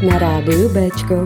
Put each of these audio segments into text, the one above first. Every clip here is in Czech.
Na rádiu Béčko.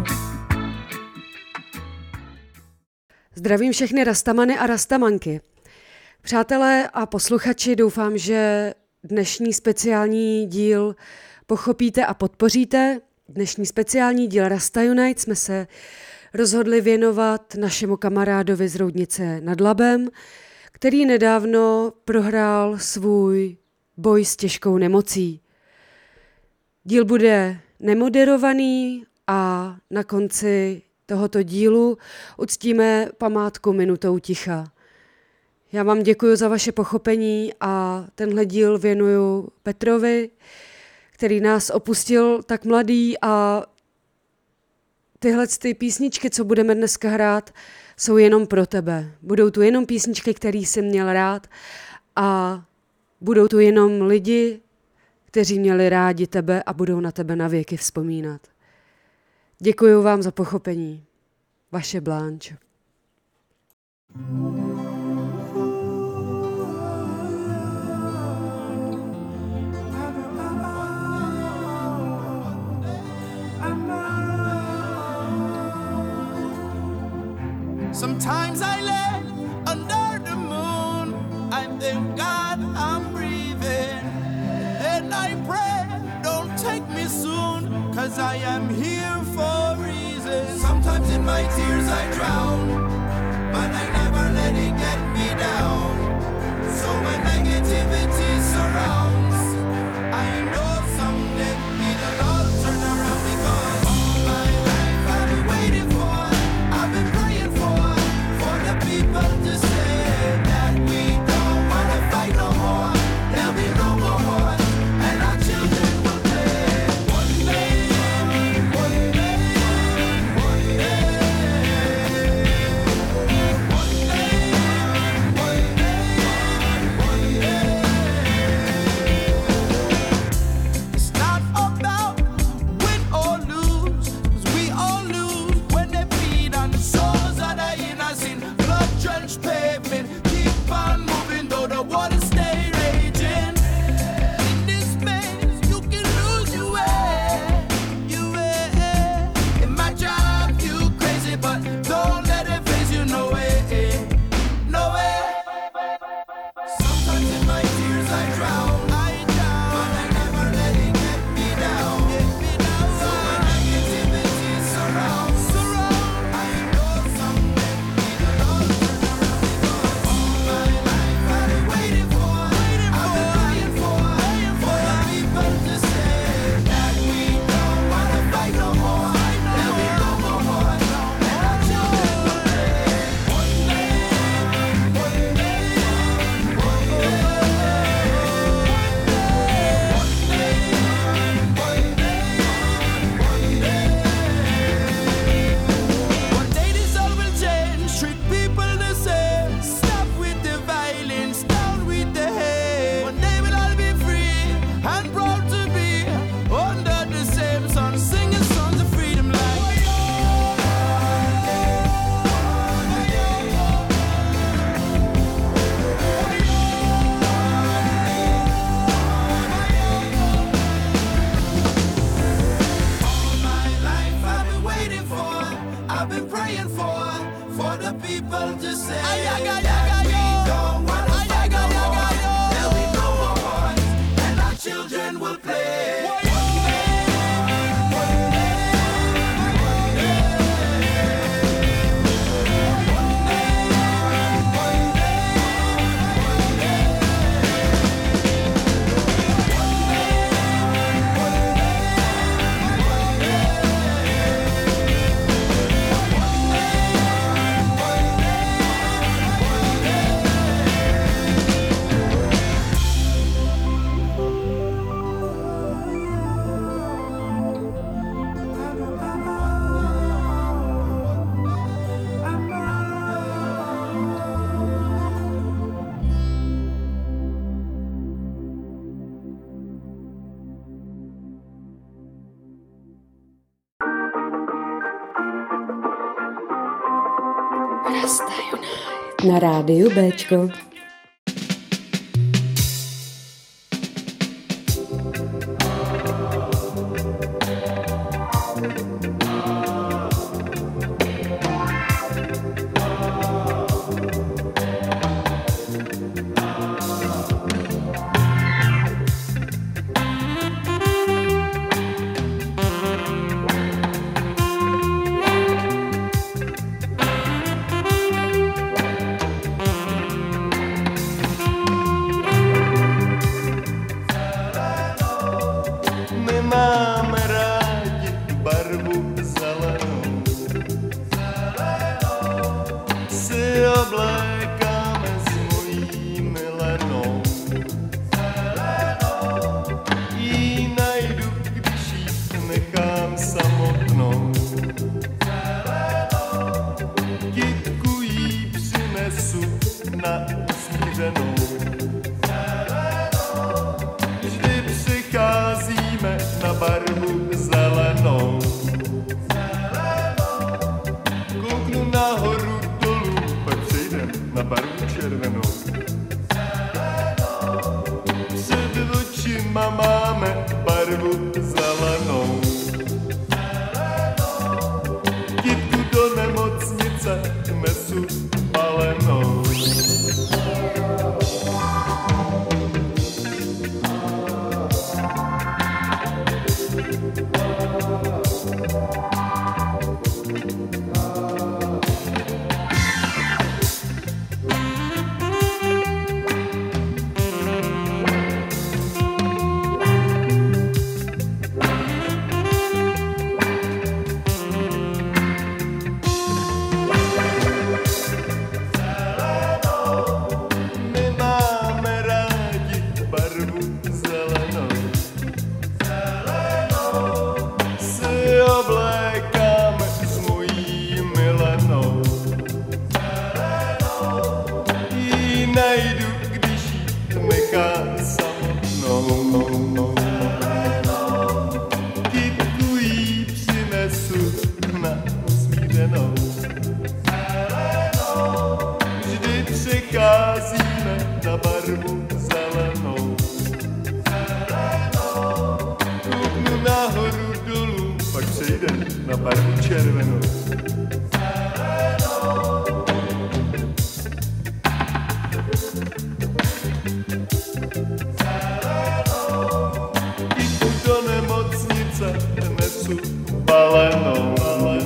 Zdravím všechny rastamany a rastamanky. Přátelé a posluchači, doufám, že dnešní speciální díl pochopíte a podpoříte. Dnešní speciální díl Rasta Unite jsme se rozhodli věnovat našemu kamarádovi z Roudnice nad Labem, který nedávno prohrál svůj boj s těžkou nemocí. Díl bude nemoderovaný a na konci tohoto dílu uctíme památku minutou ticha. Já vám děkuji za vaše pochopení a tenhle díl věnuju Petrovi, který nás opustil tak mladý, a tyhle písničky, co budeme dneska hrát, jsou jenom pro tebe. Budou tu jenom písničky, které jsi měl rád, a budou tu jenom lidi, kteří měli rádi tebe a budou na tebe na věky vzpomínat. Děkuji vám za pochopení. Vaše Blanche. Sometimes I lay under the moon, I thank God I'm breathing, and I pray, don't take me soon, 'cause I am here for a reason. Sometimes in my tears I drown, but I never let it get me down. So when negativity surrounds, I know someday it'll all turn around, because all my life I've been waiting for, I've been praying for the people to say that we don't wanna fight no more. There'll be no more war, and our children will play. One day, one day, one day, one day, one day, It's not about win or lose, 'cause we all lose when they feed on the souls of the innocent. Blood-drenched pavement, keep on moving though the water stay raging. In this maze, you can lose your way, your way. It might drive you crazy, but don't let it phase you, no way, no way. Sometimes in my tears I drown, but I never let it get me down. So when negativity surrounds, I know someday it'll all turn around, because all my life I've been waiting for, I've been praying for the people to say that we don't wanna fight no more. There'll be no more war, and our children will play. One day, one day, one day, one day, one day this all will change, treat people the same. Stop with the violence, down with the hate. One day we'll all be free and proud to be under the same sun, singing songs of freedom like all my life I've been waiting for, I've been praying for the people to say that we don't wanna fight no more. There'll be no more wars, and our children will play. One day, one day, one day, one day, one day, Rasta Unite. Na rádiu Béčko. na barvu červenou. Jdu do nemocnice, nesu balenou.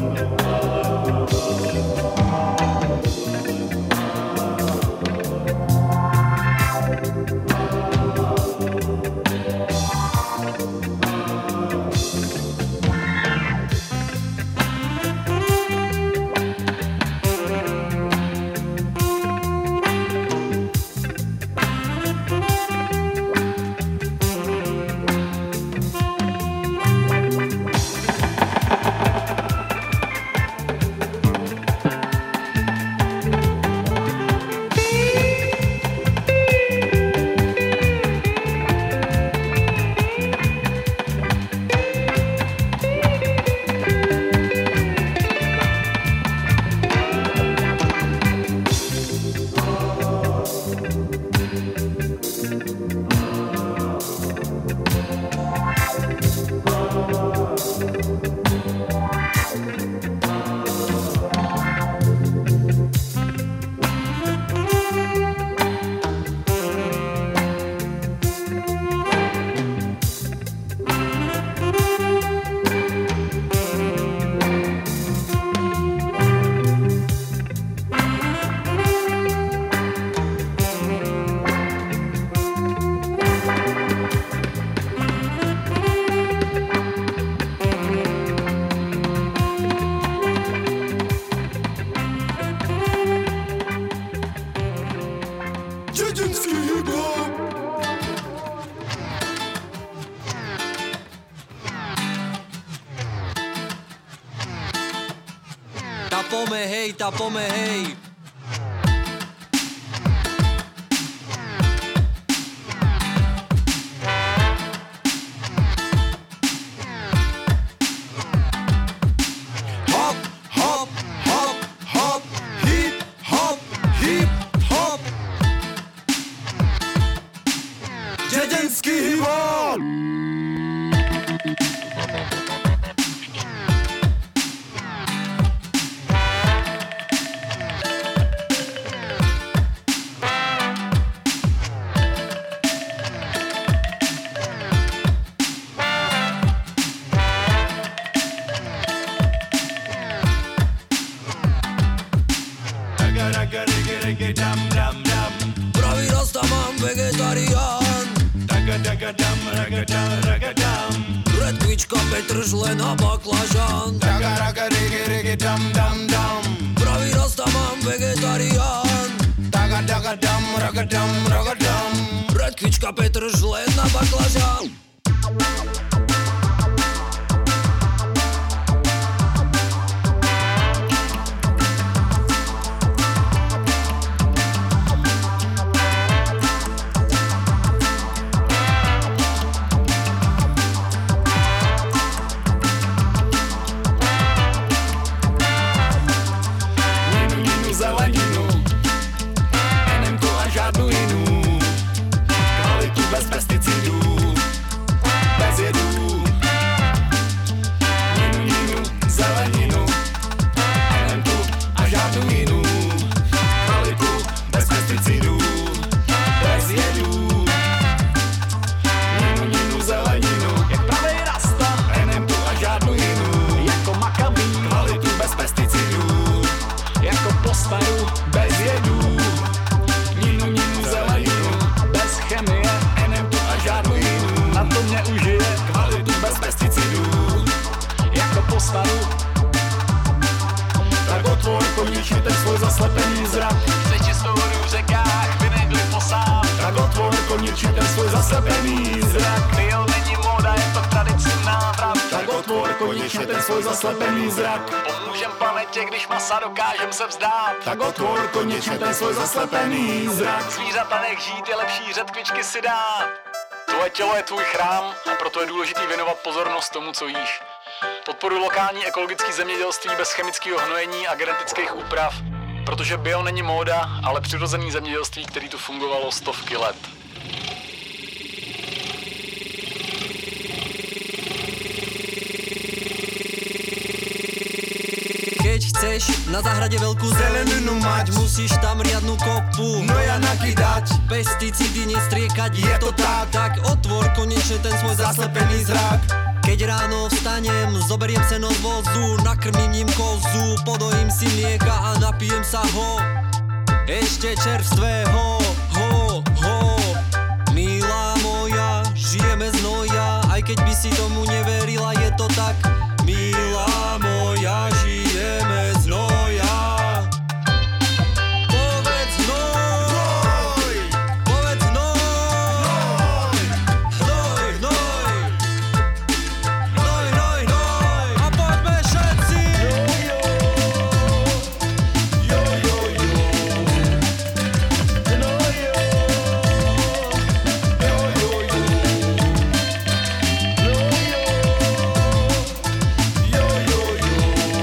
Tapome, hej. Hop, hop, hop, hop, hip, hop, hip, hop. Děděnský hip-hop. Pravý rastaman, vegetarián. Redkvička, petržlen a baklažán. Pravý rastaman, vegetarián. Redkvička, petržlen a baklažán. Tak otvor konečně ten svůj zaslepený zrak. Chce čistou vodu v řekách, vy nebyli posát. Tak otvor konečně ten svůj zaslepený zrak. Bio není móda, je to tradiční návrat. Tak otvor konečně ten svůj zaslepený zrak. Pomůžem planetě, když masa dokážem se vzdát. Tak otvor konečně ten svůj zaslepený zrak. Zvířata nech žít, je lepší řetkvičky si dát. Tvoje tělo je tvůj chrám a proto je důležitý věnovat pozornost tomu, co jíš. Podporuji lokální ekologické zemědělství bez chemického hnojení a genetických úprav, protože bio není móda, ale přirozený zemědělství, který tu fungovalo stovky let. keď chceš na záhrade veľkú zeleninu mať, musíš tam riadnu kopu Noja nakydať, pesticídy nestriekať, je to tak. Tak otvor konečne ten svoj zaslepený zrak. Keď ráno vstanem, zoberiem seno z vozu, nakrmím ním kozu, podojím si mlieka a napijem sa ho, ešte čerstvého, ho, ho. Milá moja, žijeme z noja, aj keď by si tomu neverila, je to tak. Milá moja, žijeme z noja. Povedz hnoj, povedz hnoj, hnoj, hnoj, hnoj, hnoj, hnoj. A poďme všetci. Jo, jo, jo. No, jo. Jo, jo, jo. No, jo. Jo, jo, jo.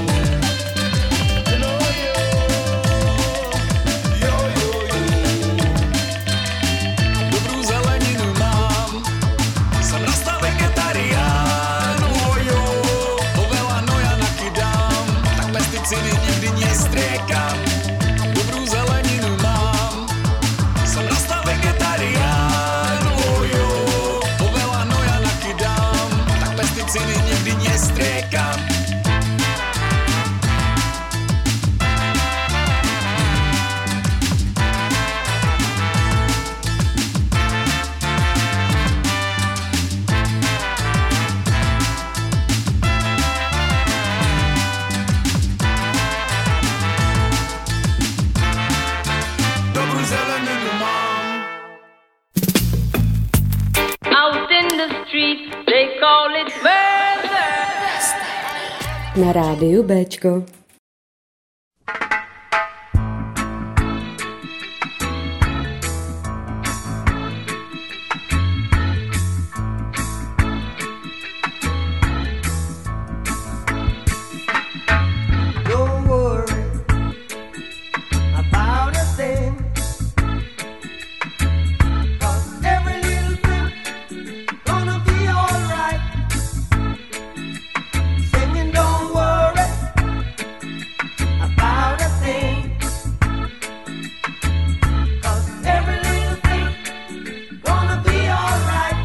No, jo. Jo, jo, jo. Dobrú zeleninu mám, som rastal vegetarián, ojo, to veľa noja nakydám, tak pesticídy nikdy nestriekam. Dobrú zeleninu mám, som rastal vegetarián, ojo, to veľa noja nakydám, tak pesticídy nikdy nestriekam. Dobrú zeleninu mám. Out in the street, they call it murder. Na rádiu Béčko. Don't worry about a thing, 'cause every little thing gonna be alright. Singing, don't worry about a thing, 'cause every little thing gonna be alright.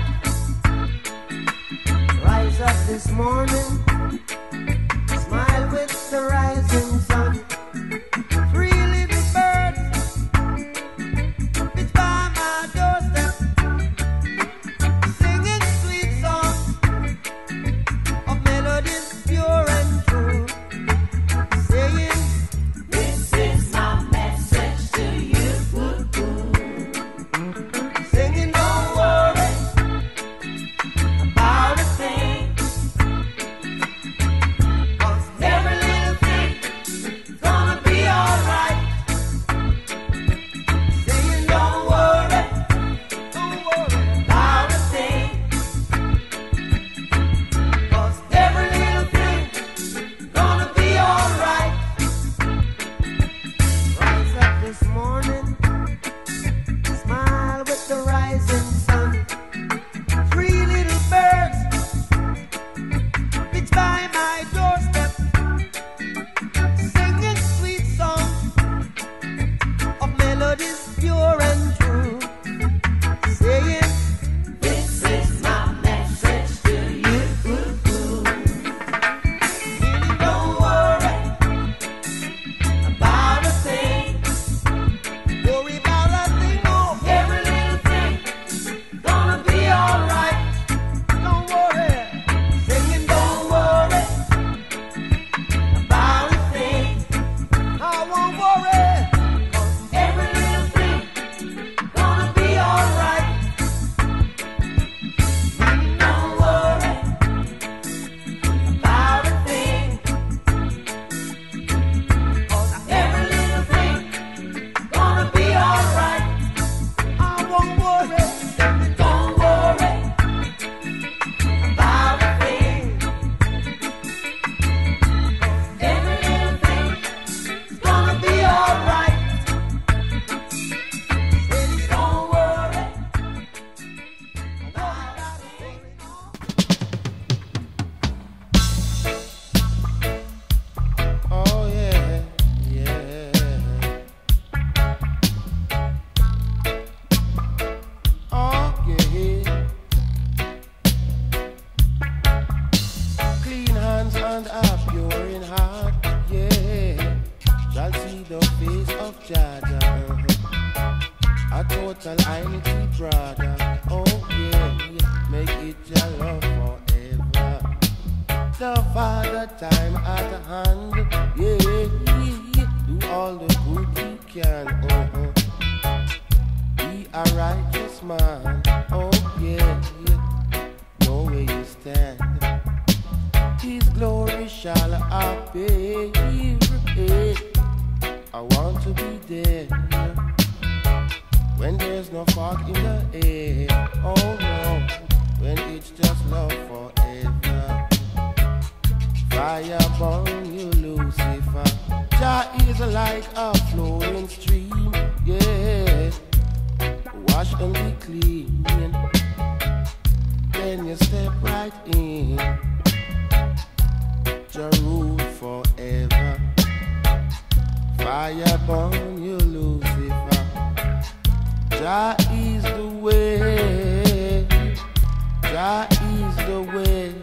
Rise up this morning, smile with the rising sun. Three little birds, it's by my doorstep, singing sweet songs of melodies pure and true, saying, "This is my message to you." Singing, don't worry about a thing, and are pure in heart, yeah, shall see the face of Jaja. A total unity, brother. Oh yeah, make it your love forever. The Father time at hand, yeah, do all the good you can. Be a righteous man. Oh yeah, know where you stand. His glory shall appear. I want to be there when there's no fog in the air. Oh no, when it's just love forever. Fire burn you, Lucifer. Jah is like a flowing stream, yeah. Wash and be clean, then you step right in. Jah rule forever. Fire burn you, Lucifer. Jah is the way. Jah is the way.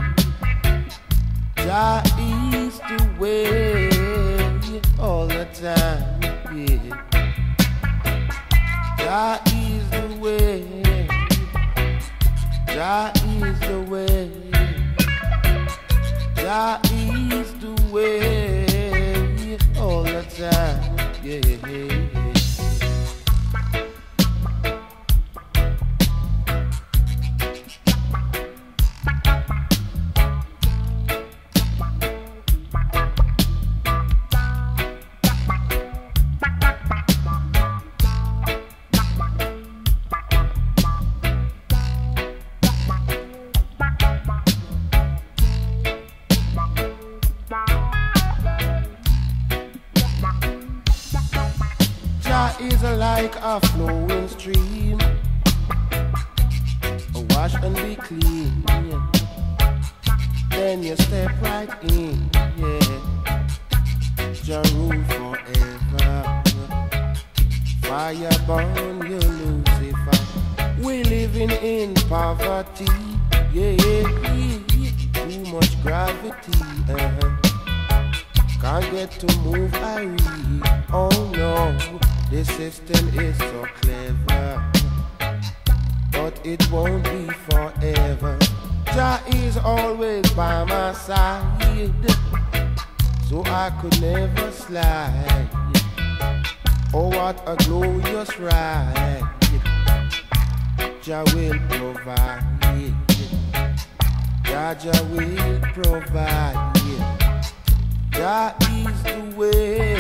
Jah is the way. All the time, yeah. Jah is the way. Jah is the way. Jah is the way. All the time, yeah. Is like a flowing stream. Wash and be clean. Then you step right in. Yeah. Jah rule forever. Fire burn you, Lucifer. We living in poverty. Yeah. Too much gravity. Can't get to move, I read. Oh no. This system is so clever, but it won't be forever. Jah is always by my side, so I could never slide. Oh, what a glorious ride. Jah will provide. Jah will provide. Jah is the way.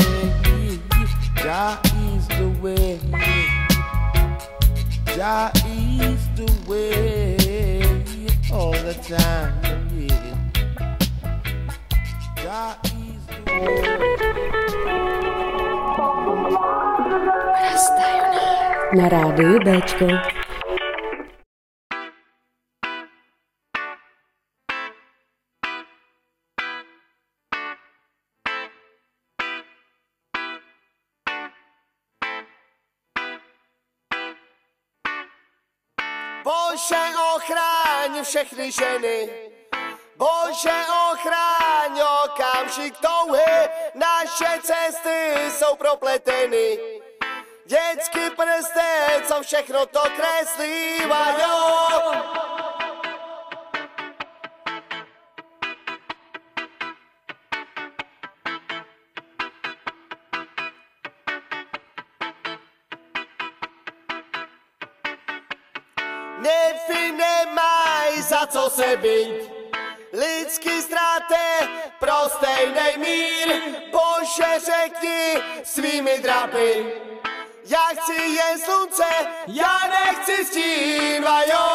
Jah is the way. Jah is the way. All the time, yeah. Jah is the way. Na rádiu Béčko. Bože, ochráň všechny ženy. Bože, ochráň okamžik touhy. Naše cesty jsou propleteny. Dětský prstec, co všechno to kreslí, vajo. Nevy nemaj za co se být, lidský ztráty pro stejnej mír. Bože, řekni svými drapy, já chci jen slunce, já nechci stín, vajo.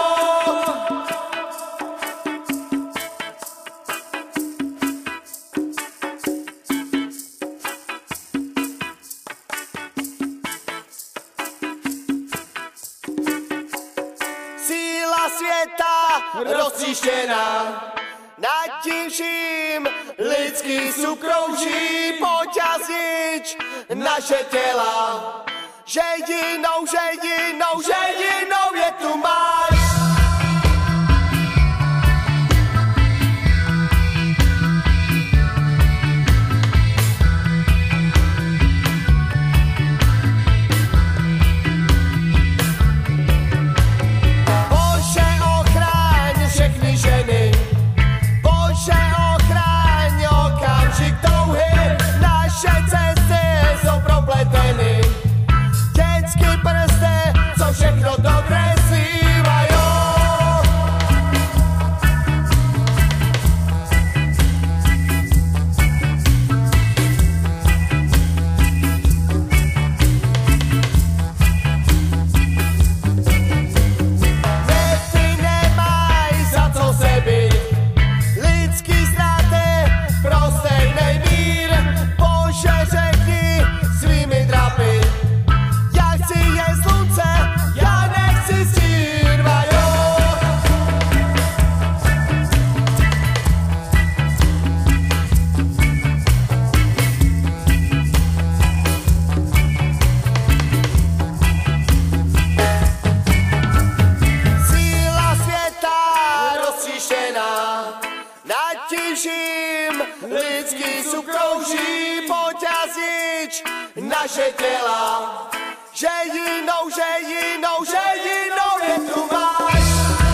Světa roztříštěná, nad tím vším lidský sukrouží. Pojď a znič naše těla, že jinou větu máš. tím vším lidský sukrouží, pojď a znič naše těla, že jinou je tu máš.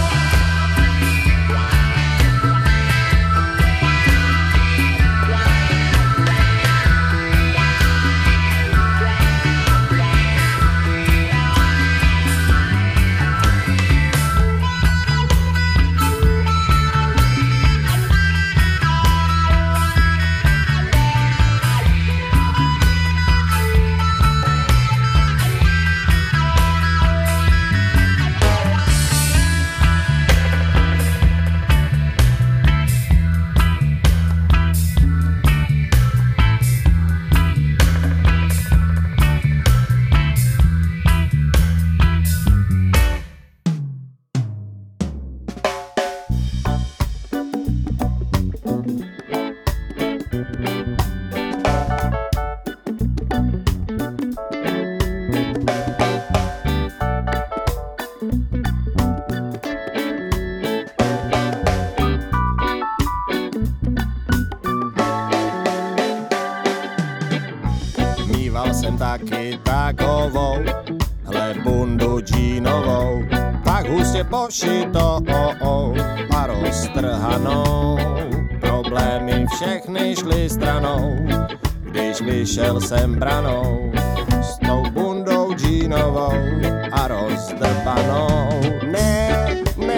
Jsem taky takovou, hle bundu džínovou, tak hustě pošitou a roztrhanou. Problémy všechny šly stranou, když vyšel jsem branou s tou bundou džínovou a rozdrbanou. Ne,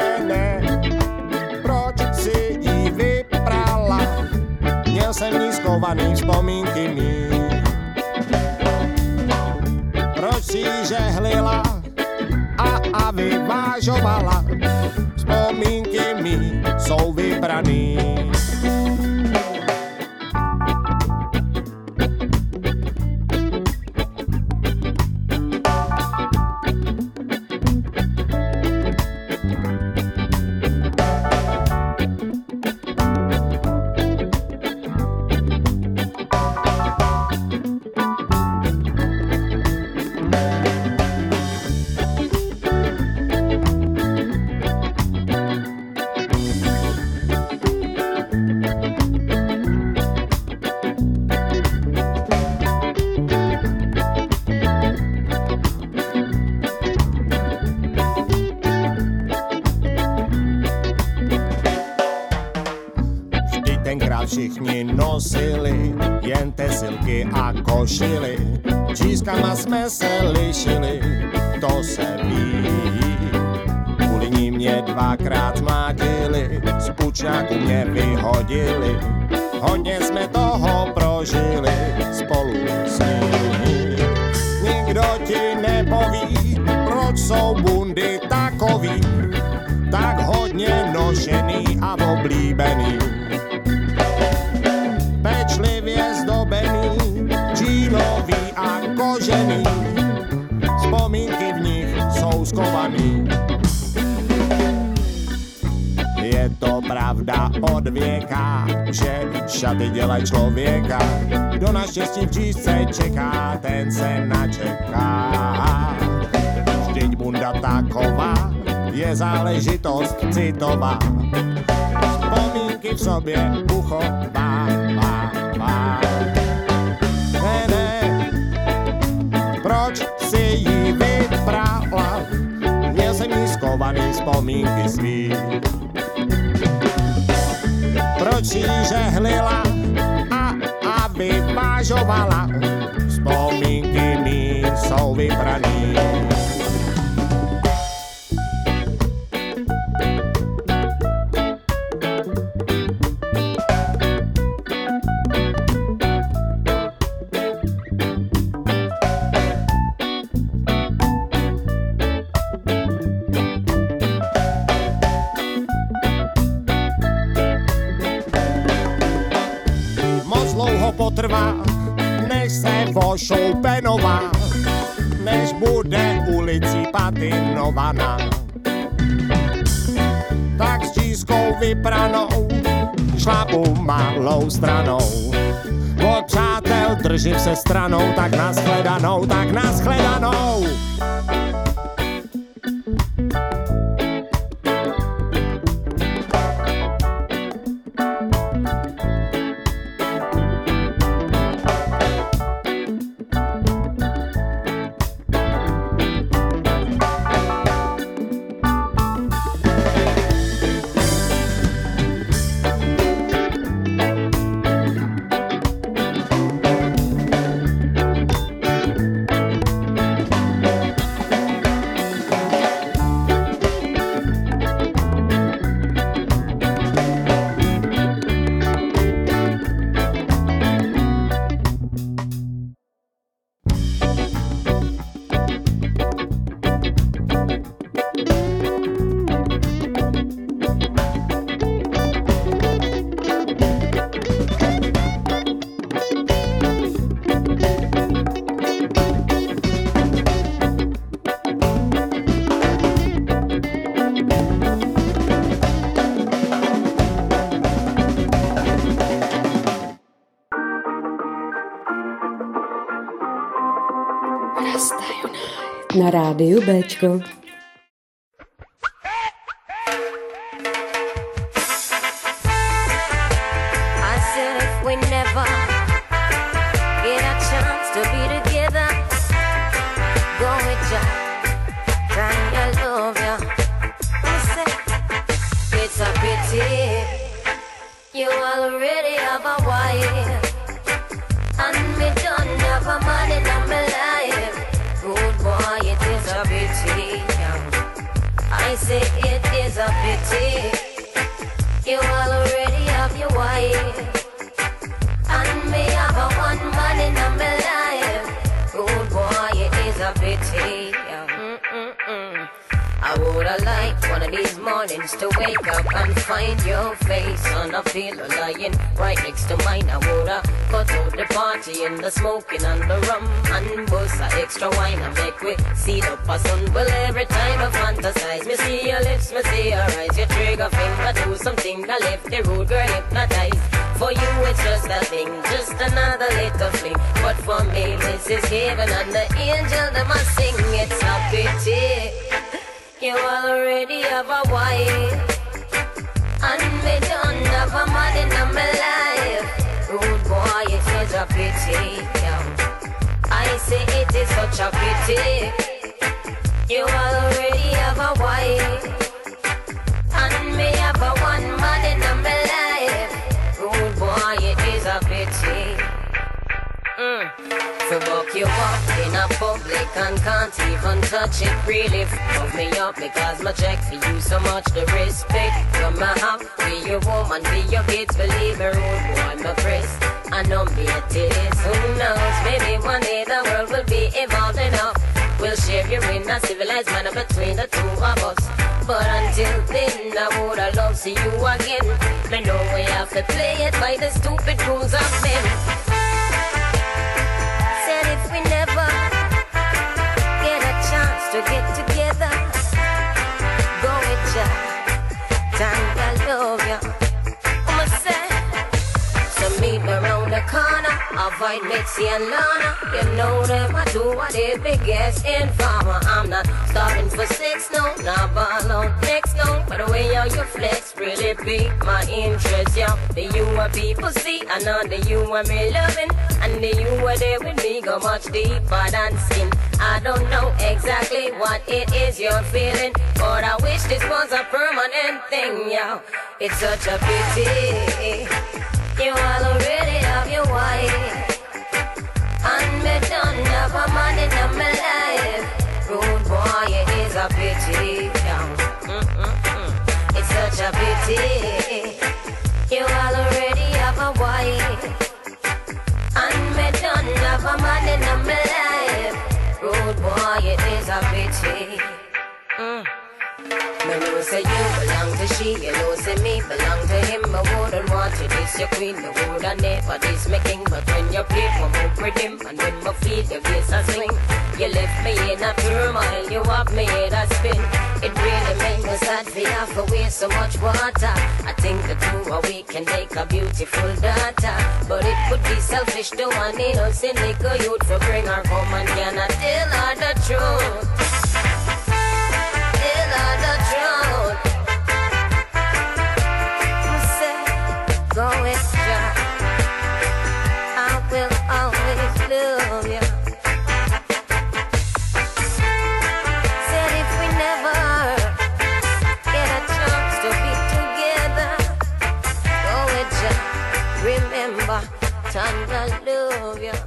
proč si jí vyprala? Měl jsem ní schovaný vzpomínky mý. Proč si žehlila a vyvážovala? Vzpomínky mi jsou vybraný. Všichni nosili jen tesilky a košily, čískama jsme se lišili, to se ví. Kvůli ní mě dvakrát mlátili, z pučňáku mě vyhodili, hodně jsme toho prožili spolu s ní. Nikdo ti nepoví, proč jsou bundy takový, tak hodně nošený a oblíbený. Pečlivě zdobený, džínový a kožený, vzpomínky v nich jsou skovaný. Je to pravda od věka, že šaty dělají člověka. Kdo na štěstí v džísce čeká, ten se načeká. Vždyť bunda taková je záležitost citová, vzpomínky v sobě uchovává. Ne, proč si jí vybrala? Měl jsem jí skovaný vzpomínky svý. Proč jí žehlila a vyvážovala? Vzpomínky mý jsou vybraný. Potrvá, než se vošoupenová, než bude ulicí patinovaná. Tak s čískou vypranou šlapu malou stranou. Od přátel držím se stranou, tak nashledanou, tak nashledanou. Na rádiu Béčko. You already have a wife, and me don't have a man in my life. Good boy, it is a pity. I say it is a pity. You already have your wife, and me have a one man in my life. Good boy, it is a pity. I woulda liked one of these mornings to wake up and find your face on a pillow lying right next to mine. I woulda cut out the party and the smoking and the rum and bust a extra wine and make we see up a sun. Well, every time I fantasize, me see your lips, me see your eyes, your trigger finger do something that left the rude girl hypnotized. For you it's just a thing, just another little fling. But for me this is heaven and the angel that must sing. It's a pity you already have a wife, and me don't have a man in my life. Rude boy, it is a pity. I say it is such a pity. You already have a wife, and me have a one man in my life. Rude boy, it is a pity. To walk you up in a public and can't even touch it. Really fuck me up because my check for you so much. The respect from my have be your woman, be your kids. Believe me, rude boy, my press. I know me it is. Who knows? Maybe one day the world will be evolved enough. We'll share you in a civilized manner between the two of us. But until then, I woulda loved to see you again. I know we have to play it by the stupid rules of men. If we never get a chance to get together, go with ya, time I love ya. I'ma say, so meet me around the corner, avoid Mitzi and Lana. You know them, I do what they biggest informer. I'm not starving for sex, no, not ball out next, no. But the way how you flex really pique my interest, yeah. The you and people see, I know the you and me loving. And the you were there with me go much deeper than skin. I don't know exactly what it is you're feeling, but I wish this was a permanent thing, yeah. It's such a pity you all already have your wife, and me don't have a man in my life. Rude boy, it is a pity, yeah. It's such a pity you all already have a wife, and me don't have a man in my life. Rude boy, it is a pity. Me know say you belong to she, you know say me belong to him. I wouldn't want you this your queen, I woulda never this my king. But when you play for me with him, and when my feet your face a swing, you left me in a turmoil, you have me in a spin. It really made me sad for have to waste so much water. I think the two of we can make a beautiful daughter, but it would be selfish to an innocent little youth for bring her home and cannot tell her the truth. Tell her the truth. Say, go with ya, I will always love you. Said if we never get a chance to be together, go with ya, remember, time I love you.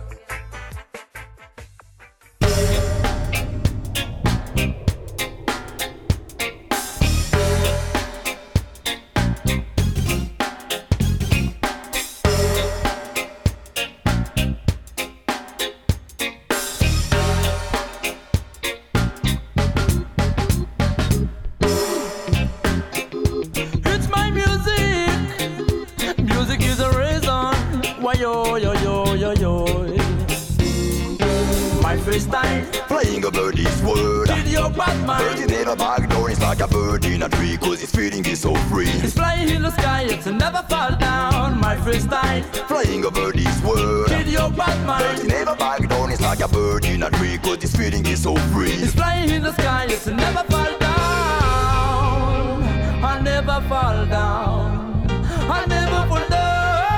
Flying over this world, birdie never back down. It's like a bird in a tree, cause its feeling is so free. It's flying in the sky, it's never fall down. My my freestyle. Flying over this world. Kill your bad mind. But it never back down, it's like a bird in a tree, cause this feeling is so free. It's flying in the sky, it's never fall down. I'll never fall down. I'll never fall down.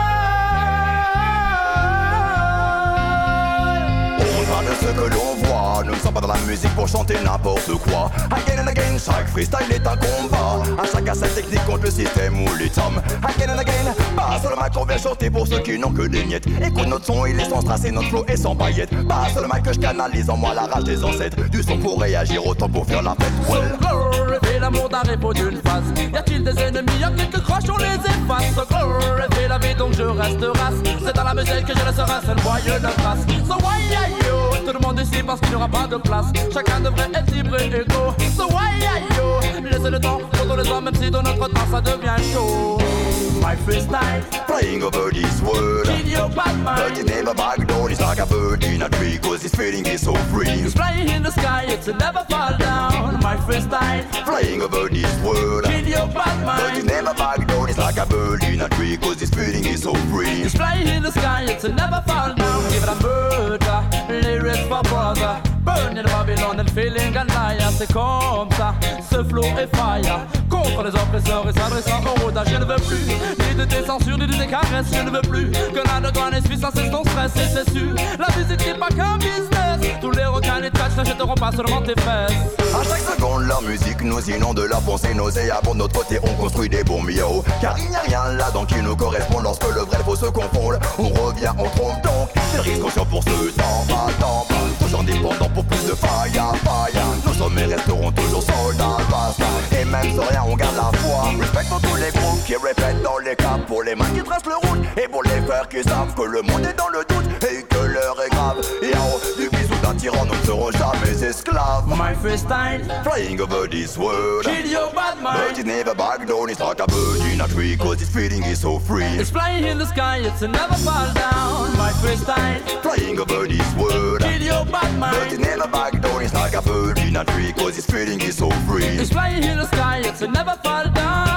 Ce que l'on voit, nous ne sommes pas dans la musique pour chanter n'importe quoi. Again and again, chaque freestyle est un combat. À chacun sa technique contre le système ou les hommes. Again and again, pas seulement qu'on vient chanter pour ceux qui n'ont que des miettes. Écoute notre son, il est sans strass et notre flow est sans paillettes. Pas seulement que je canalise en moi la rage des ancêtres. Du son pour réagir, autant pour faire la fête. Well. Glorifie l'amour d'un repos d'une face. Y a-t-il des ennemis, y'a quelques croches, on les efface. Glorifie la vie, donc je reste race. C'est dans la musique que je laisserai seul moyen de trace. So why are you? Tout le monde ici parce qu'il n'y aura pas de place. Chacun devrait être libre et égaux. So why are you? Laissez le temps pour tous les hommes, même si dans notre temps ça devient chaud. My freestyle, flying over this world. Kill your bad mind. But it never back down, it's like a bird in a tree, cause this feeling is so free. It's flying in the sky, it's never fall down. My freestyle, flying over this world. Kill your bad mind. But it never back down, it's like a bird in a tree, cause this feeling is so free. It's flying in the sky, it's never fall down. Give it a murder, lyrics for brother. Burning Babylon and feeling and liar. C'est comme ça, ce flow est fire. Contre les oppresseurs et s'adressant au rodage. Je ne veux plus ni de tes censures, ni de tes caresses. Je ne veux plus que la de toi n'essuie sans cesse ton stress. Et c'est sûr, la musique n'est pas qu'un business. Tous les requins et trash n'achèteront pas seulement tes fesses. À chaque seconde, la musique nous inonde de la pensée nauséabonde. De notre côté, on construit des bons miaux. Car il n'y a rien là-dedans qui nous correspond. Lorsque le vrai faux se confondent, on revient, on trompe donc. Des risques conscients pour ce temps, pas. Toujours indépendants pour plus de fire. Nos sommets resteront toujours soldats, basta. Et même sans rien, on garde la foi. Respectons tous les groupes qui répètent dans les caps. Pour les mains qui tracent le route. Et pour les frères qui savent que le monde est dans le doute. Et que l'heure est grave. Et en haut du bisou d'un tyran, nous ne serons jamais esclaves. My freestyle, flying over this world. Kill your bad mind. But it never back down, it's like a bird in a tree, cause this feeling is so free. It's flying in the sky, it's never fall down. My freestyle, flying over this world. Kill your bad mind. But it never back down, it's like a bird in a tree, cause this feeling is so free. It's flying in the sky, it's never fall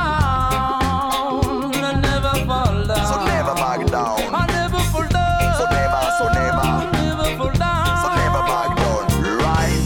down. Never fall down. So never back down. I never fall down. So never. Never fall down. So never back down, right?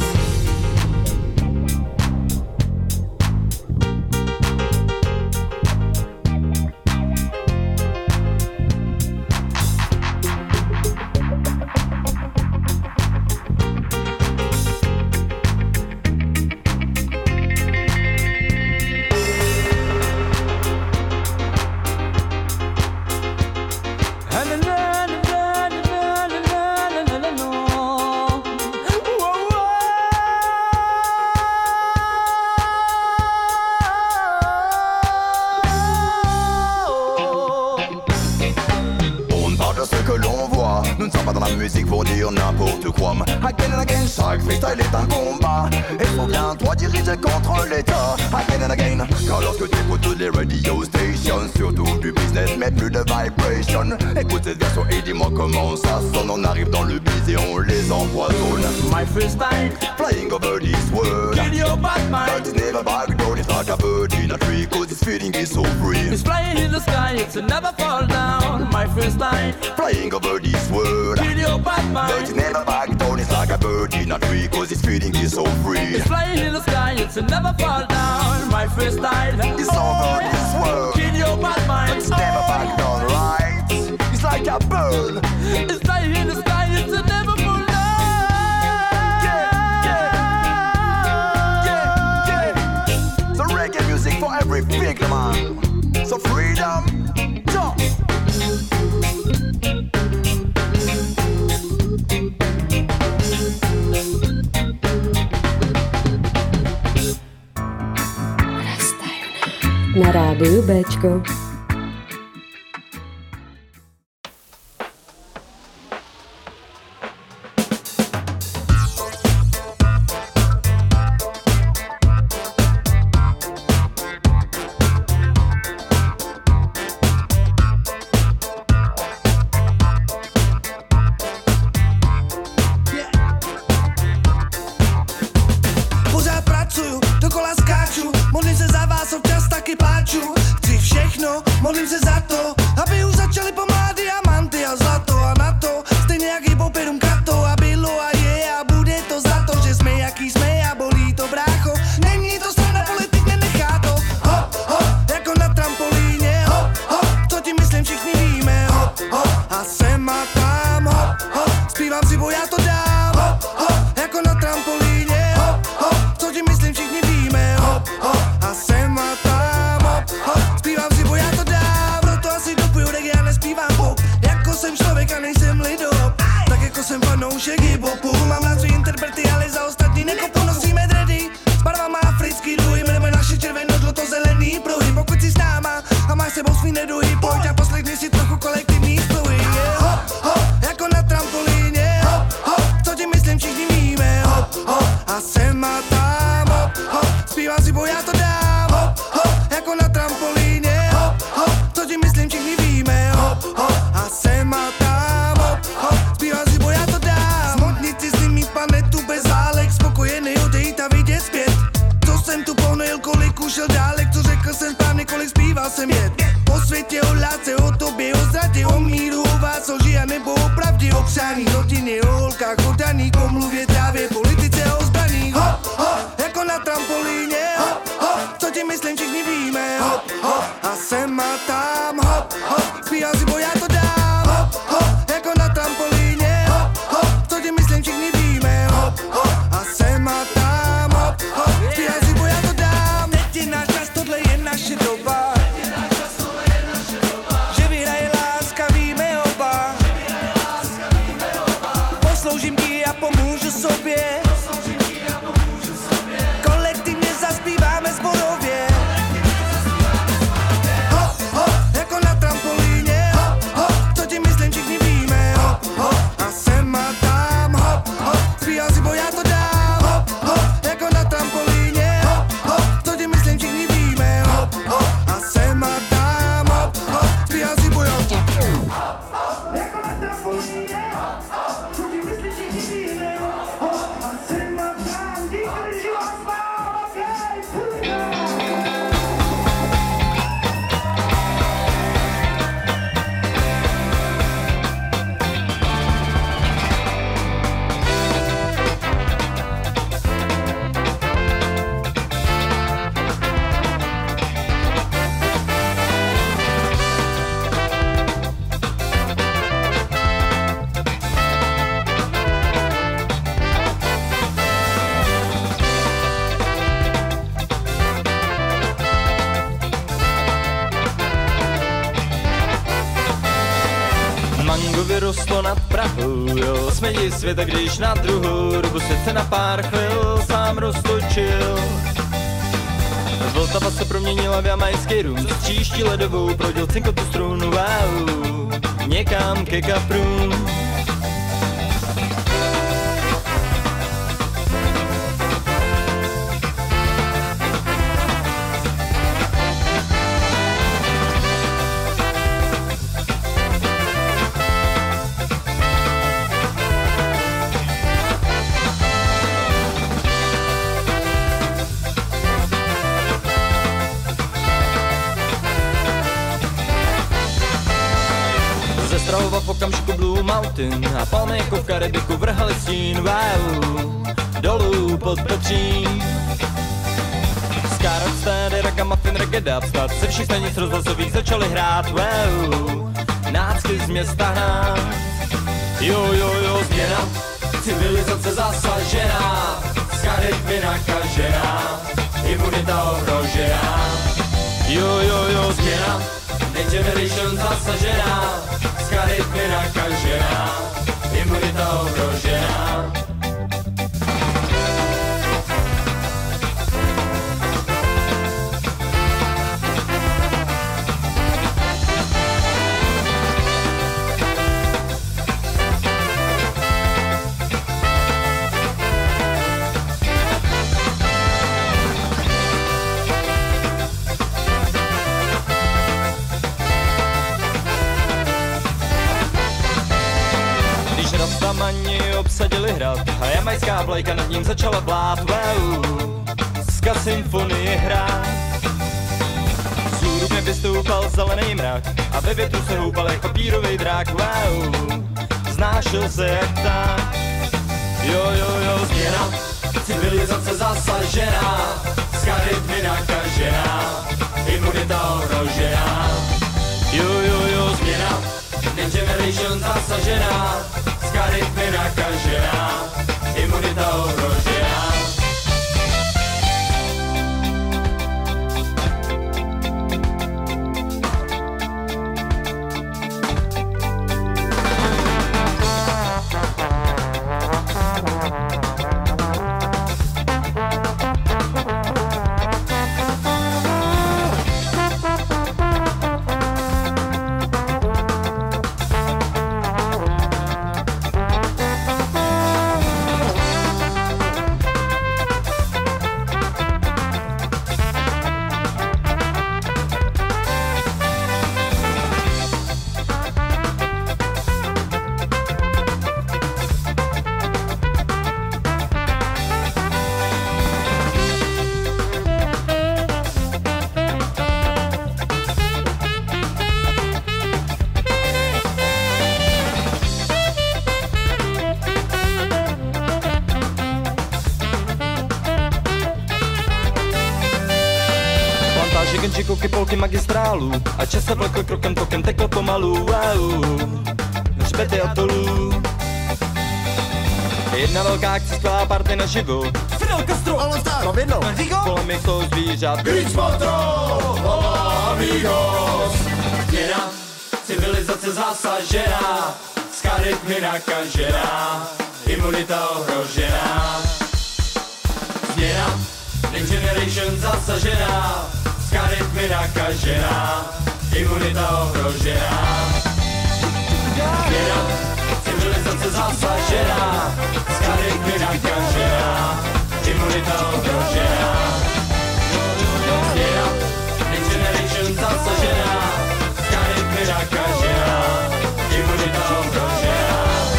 Nous ne sommes pas dans la musique pour dire n'importe quoi. Again and again, chaque freestyle est un combat. Et souviens-toi diriger contre l'état. Again and again, car lorsque tu écoutes toutes les radio stations, surtout du business, mais plus de vibration. Écoute cette version et dis-moi comment ça sonne. On arrive dans le biz et on les empoisonne. My freestyle, flying over this world. Kill your bad mind. But it's never back down, it's like a bird in a tree, cause this feeling is so free. It's flying in the sky, it's never fall down. My freestyle, flying over this world. Kill your bad mind. But it's never back down, it's like a bird in a tree, cause this feeling is so free. It's flying in the sky, it's never fall down. My freestyle, it's over this world. Kill your bad mind. But it's never back down, right? It's like a bird. It's flying in the sky, it's never fall down. So reggae music for every figure, man. So freedom, jump. Na rádiu Béčko. Pořád pracuju, dokola skáču, modlím se za vás, občas taky pláču. Chci všechno Užij si trochu kolektivní spojení. Hop, hop, jako na trampolíně. Hop, hop, co ti myslím všichni víme. Hop, hop, a sem a tam. Hop, hop, zpívám si, bo já to dám. Hop, hop, jako na trampolíně. Hop, hop, co ti myslím všichni víme. Hop, hop, a sem a tam. Hop, hop, zpívám si, bo já to dám. Smotnici s nimi planetu bez válek. Spokojený odejít a vidět zpět. Co jsem tu ponojil, kolik ušel dálek. Co řekl jsem správně, kolik zpíval jsem jet. O světě, o lásce, o tobě, o zradě, o míru, o vás, o žija nebo o pravdě, o přání, rodině, o holkách, o daných, o mluvě, trávě, politice, o zbraních. Hop, hop, jako na trampolíně. Hop, hop, co ti myslím všichni víme. Hop, hop, a sem a tam. Hop, hop, zpívám si, bo já to dám. Hop, hop, jako na trampolíně. Hop, hop, co ti myslím všichni víme. Hop, hop, a sem a tam. Hop, hop, zpívám si, bo já to dám. Teď je náš čas, tohle je naše doba. Že vyhraje láska, víme oba. Posloužím ti a pomůžu sobě. Kolektivně zaspíváme zborově. Hop, hop, jako na trampolíně. Hop, hop, co ti myslím všichni víme. Hop, hop, a sem a tam. Hop, hop, zpívám si, bo já to dám. Hop, hop, jako na trampolíně. Hop, hop, co ti myslím všichni víme. Hop, hop, a sem a tam. Hop, hop, zpívám si, bo já to dám. Jako na trampolíně. Co ti myslím všichni víme. Hop, a sem a tam. Díky, že vás mám, Mango vyrostlo nad Prahou, jo, smědi světa, když na druhou dobu svět se na pár chvil sám roztočil. Vltava se proměnila v jamajský rum, stříští ledovou prodil cinkotu strunu, wow, někam ke kaprům. V okamžiku Blue Mountain a palmy jako v Karibiku vrhali stín, wow, dolů pod Petřín. Skárat stády, ragamuffin, reggae, dubstep, ze všech stanic rozhlasových začali hrát, wow, nácky z města hnát. Jo, změna, civilizace zasažená, z Kariby nakažená, imunita ohrožená. Jo, změna, Next Generation zasažená, z Kariby nakažená, imunita ohrožená. Rastamani obsadili hrad a jamajská vlajka nad ním začala vlát, wow, ska symfonie hrát. Z hůru mě vystoupal zelený mrak a ve větru se houpal jak papírovej drák, wow, znášel se jak tak. Jo, změna, civilizace zasažená, z Kariby nakažená, imunita ohrožená. Jo, změna, Next Generation zasažená, z Kariby nakažená, imunita ohrožená. kouky polky magistrálu a čas se vlekl krokem tokem, tekl pomalu, wow, hřbety atolů. Jedna velká akce, skvělá party na živu. Fidel Castro, ale tak, Rovino, kolem je to zvířat. Grič Patro, hola amigos. Změna, civilizace zasažená, z charit mi nakažená, imunita ohrožená. Změna, next generation zasažená, z charit mi nakažená, imunita ohrožená. Změna, civilizace zasažená, z charit mi nakažená, imunita ohrožená. Změna, next generation zasažená, z charit mi nakažená, imunita ohrožená.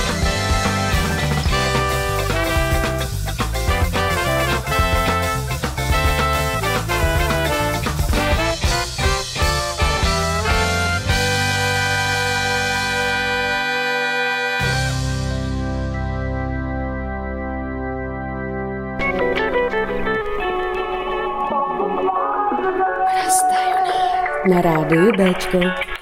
Na rádiu Béčko.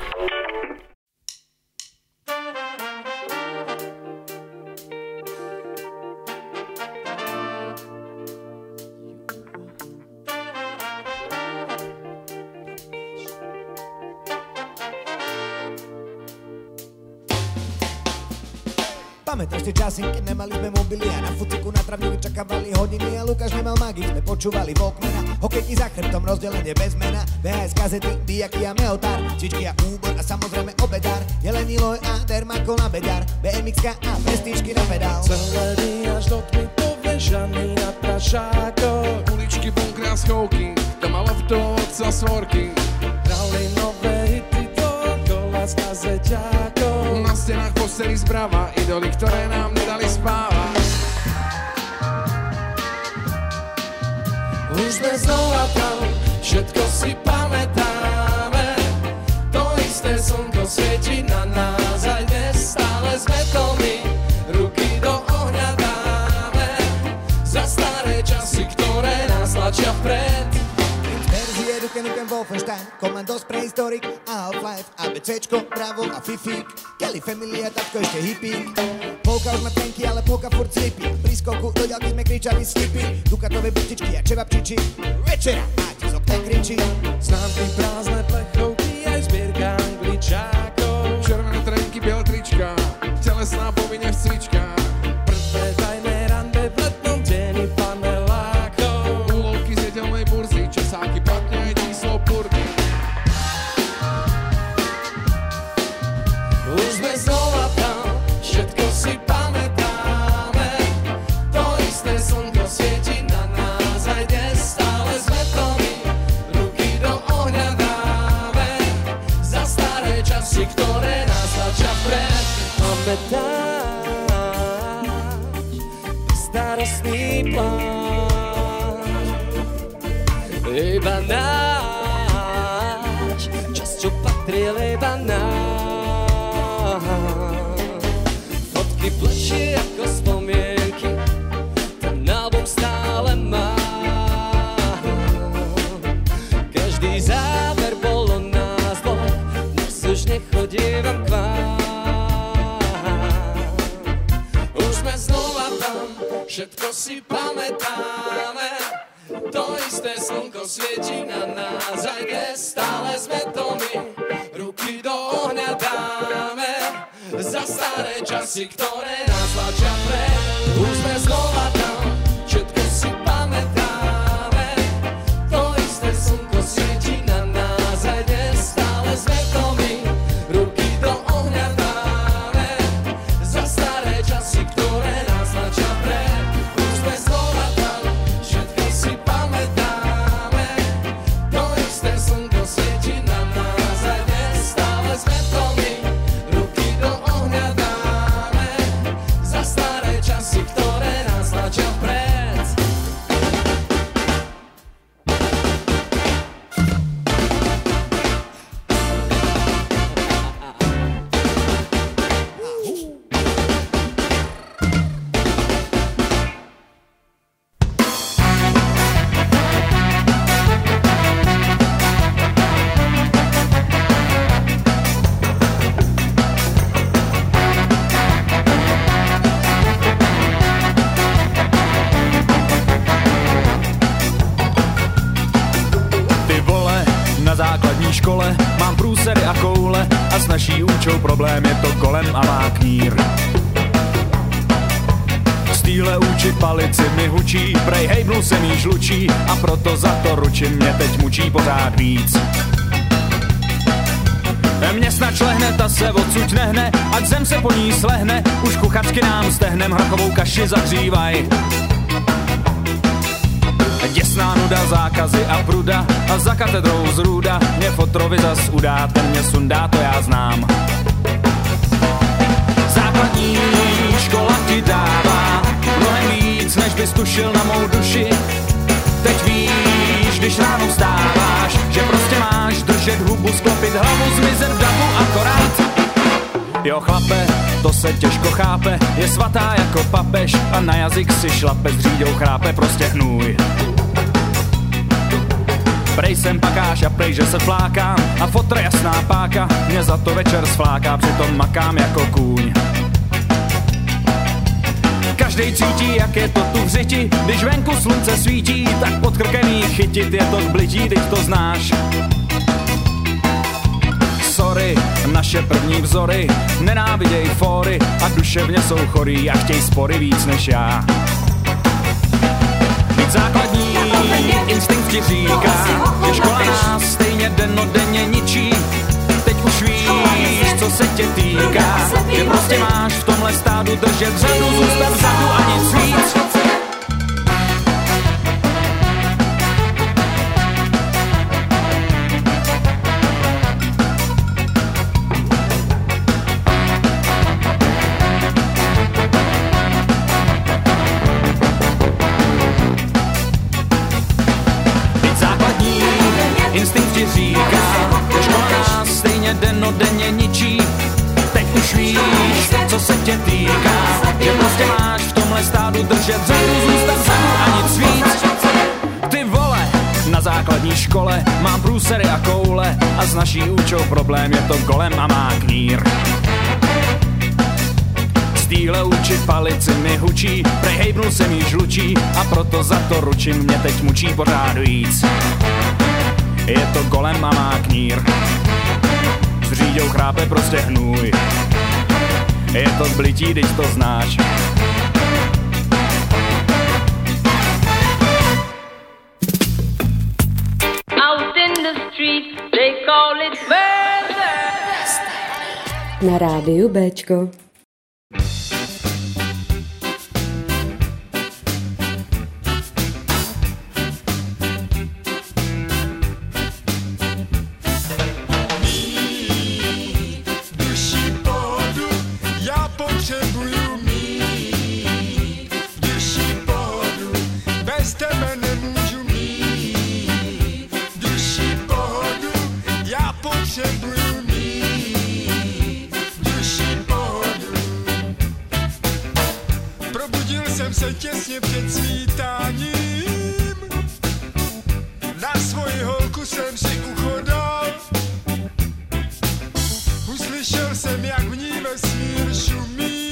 Pamätáš tie časy, keď nemali sme mobily a na fuciku na travníku čakávali hodiny a Lukáš nemal magik, sme počúvali Walkmana, hokejky za chrbtom, rozdelenie bez mena, VHS kazety, diaky a meotár, čičky a úbor a samozrejme obedár, Jelení loj a dermako na bedár, BMX-ka a prestíčky na pedál. Celé dny až do tmy povežaný na prašákoch, uličky, bunkry a schovky, doma loftov, otca svorky, hrali nové hity dokola z kazeťákov. Na stenách posteli zprava, idoly, ktoré nám nedali spávať. Už sme znova tam, všetko si pamätáme. To isté slnko svieti na nás, aj dnes stále sme to my. Ruky do ohňa dáme, za staré časy, ktoré nás tlačia vpred. Verzie Duke Nukem Wolfenstein, Commandos Prehistoric a Half-Life, ABCčko, Bravo a Fifík, Kelly Family a tatko ešte hippík. Polka už má tenky, ale polka furt slipí, pri skoku do ďalky sme kričali slipy, Dukatové butičky a čevapčiči, večera máte z okna kričí. Známky, prázdne plechovky, aj zbierka angličákov, červené trenky, biele trička, telesná povinne v cvičkách. Prvé tajné rande v letnom deni panelákov, úlovky z nedelnej burzy, časáky, platne aj číslo purky. Už sme znova tam, všetko si pamätáme. To isté slnko svieti na nás, aj dnes stále sme to my. Ruky do ohňa dáme, za staré časy, ktoré nás tlačia vpred. Pamätáš starostný pláč, iba náš čas, čo patril iba náš. Fotky plečí ako spomienky, ten album stále má. Každý záber bol o nás dvoch, dnes už nechodívam k vám. Už sme znova tam, všetko si pamätáme. To isté slnko svieti na nás, aj dnes stále sme to my. Ruky do ohňa dáme, za staré časy, ktoré nás tlačia vpred. Už sme znova tam, všetko si pamätáme. To isté slnko svieti na nás, aj dnes stále sme to my. Ruky do ohňa dáme, za staré časy, ktoré nás tlačia vpred. Už sme znova tam, všetko si pamätáme. To isté slnko svieti na nás, aj dnes stále sme to my. Ruky do ohňa dáme, za staré časy, ktoré nás tlačia naší účou problém, je to golem a má knír. Z týhle úči palici mi hučí, prej hejbnul se mý žlučí a proto za to ručím, mě teď mučí pořád víc. Mě snad šlehne, ta se odsud nehne, ať zem se po ní slehne, už kuchačky nám stehnem hrachovou kaši zahřívaj. Děsná nuda, zákazy a pruda a za katedrou zrůda mě fotrovi zas udá, ten mě sundá, to já znám. Základní škola ti dává mnohem víc, než bys tušil na mou duši. Teď víš, když ráno vstáváš, že prostě máš držet hubu, sklopit hlavu, zmizet v davu akorát. Jo chlape, to se těžko chápe, je svatá jako papež a na jazyk si šlape, s říďou chrápe, prostě hnůj. Prej jsem pakáš a prej, že se flákám a fotra jasná páka mě za to večer sfláká, přitom makám jako kůň. Každej cítí, jak je to tu v řiti, když venku slunce svítí, tak pod krkem jí chytit, je to k blití, teď to znáš. Sorry, naše první vzory nenáviděj fóry a duševně jsou chorý a chtěj spory víc než já. Být základní instinkt ti říká, že škola nás stejně dennodenně ničí. Teď už víš, co se tě týká, že prostě máš v tomhle stádu držet řadu, zůstat vzadu a nic víc. Instinkt ti říká, že škola nás stejně dennodenně ničí. Teď už víš, co se tě týká, že prostě máš v tomhle stádu držet řadu, zůstat vzadu a nic víc. Ty vole, na základní škole mám průsery a koule a s naší účou problém, je to golem a má knír. Z týhle úči palici mi hučí, prej hejbnul se mý žlučí a proto za to ručím, mě teď mučí pořád víc. Je to golem a má knír, s říďou chrápe, prostě hnůj. Je to blití, když to znáš. Out in the street, they call it murder. Na rádiu Béčko. Těsně před svítáním na svoji holku jsem si uchodal. Uslyšel jsem, jak v ní vesmír šumí.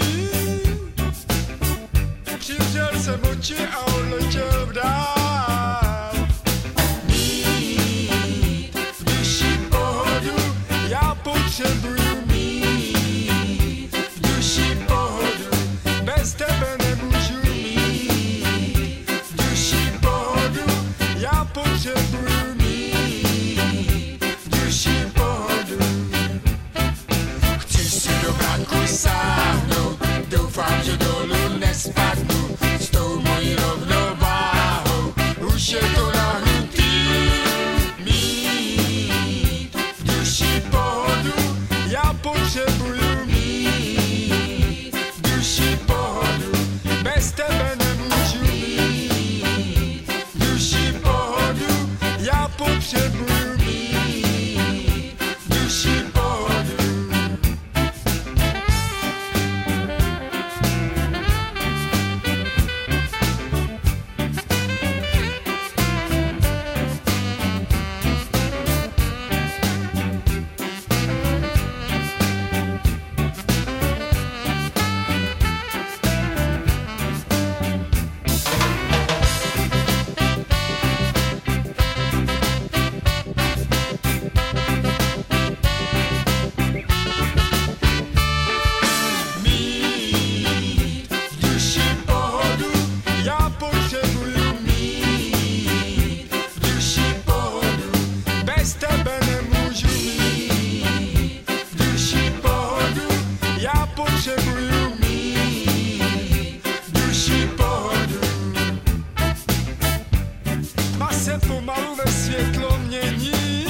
Přivřel jsem oči a odletěl v dál. Mít v duši pohodu, já potřebuju mít v duši pohodu, bez tebe nemůžu. Potřebuju mít v duši pohodu. Chci si do bránku sáhnout, doufám, že dolů nespadnu s tou mojí rovnováhou. Už je to nahnutý. Mít v duši pohodu, já potřebuju mít v duši pohodu, bez tebe nemůžu mít v duši pohodu. Já potřebuju mít v duši pohodu. potřebuju mít duši pohodu. Tma se pomalu ve světlo mění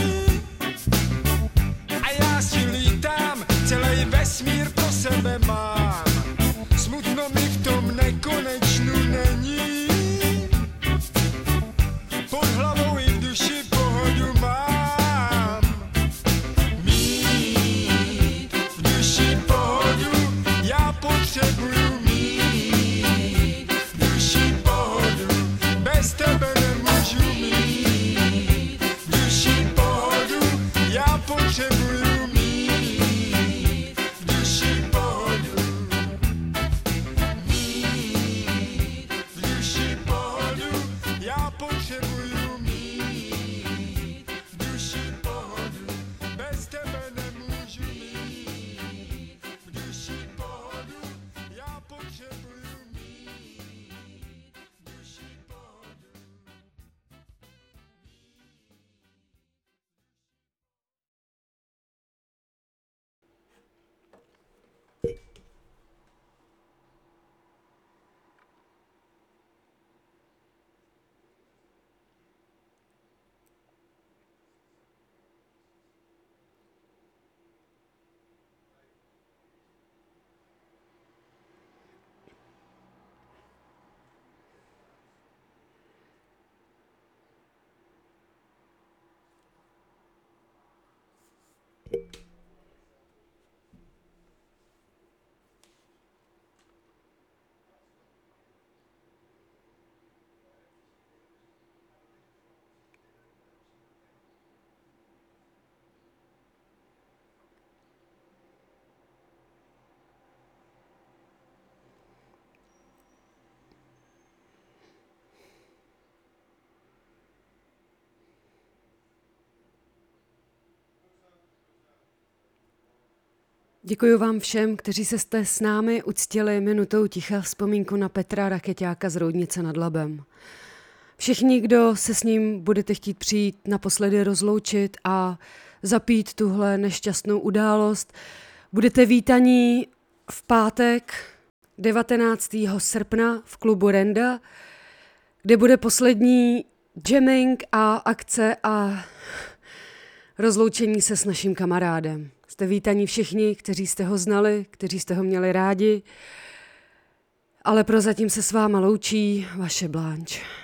a já si lítám, celý vesmír pro sebe mám. Smutno mi v tom nekonečnu není, pod hlavou i v duši pohodu mám. Mít v duši pohodu, já potřebuju mít v duši pohodu, bez tebe nemůžu mít v duši pohodu, já potřebuju mít v duši pohodu. Mít v duši pohodu, já potřebuju mít v duši pohodu, bez tebe nemůžu mít v duši pohodu, já potřebuju mít v duši pohodu. Děkuji vám všem, kteří se jste s námi uctili minutou ticha vzpomínku na Petra Rakeťáka z Roudnice nad Labem. Všichni, kdo se s ním budete chtít přijít naposledy rozloučit a zapít tuhle nešťastnou událost, budete vítaní v pátek 19. srpna v klubu Renda, kde bude poslední jamming a akce a rozloučení se s naším kamarádem. Jste vítaní všichni, kteří jste ho znali, kteří jste ho měli rádi, ale prozatím se s váma loučí vaše Blanche.